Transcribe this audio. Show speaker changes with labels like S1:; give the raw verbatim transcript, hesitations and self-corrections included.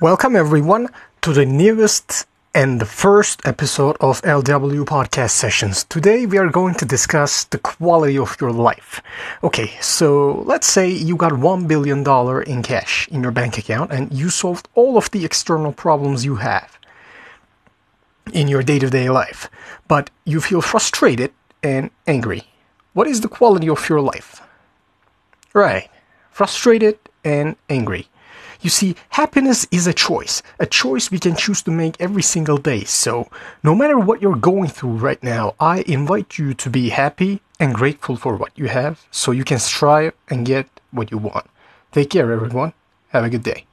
S1: Welcome everyone to the newest and the first episode of L W Podcast Sessions. Today we are going to discuss the quality of your life. Okay, so let's say you got one billion dollars in cash in your bank account and you solved all of the external problems you have in your day-to-day life, but you feel frustrated and angry. What is the quality of your life? Right, frustrated and angry. You see, happiness is a choice, a choice we can choose to make every single day. So, no matter what you're going through right now, I invite you to be happy and grateful for what you have so you can strive and get what you want. Take care, everyone. Have a good day.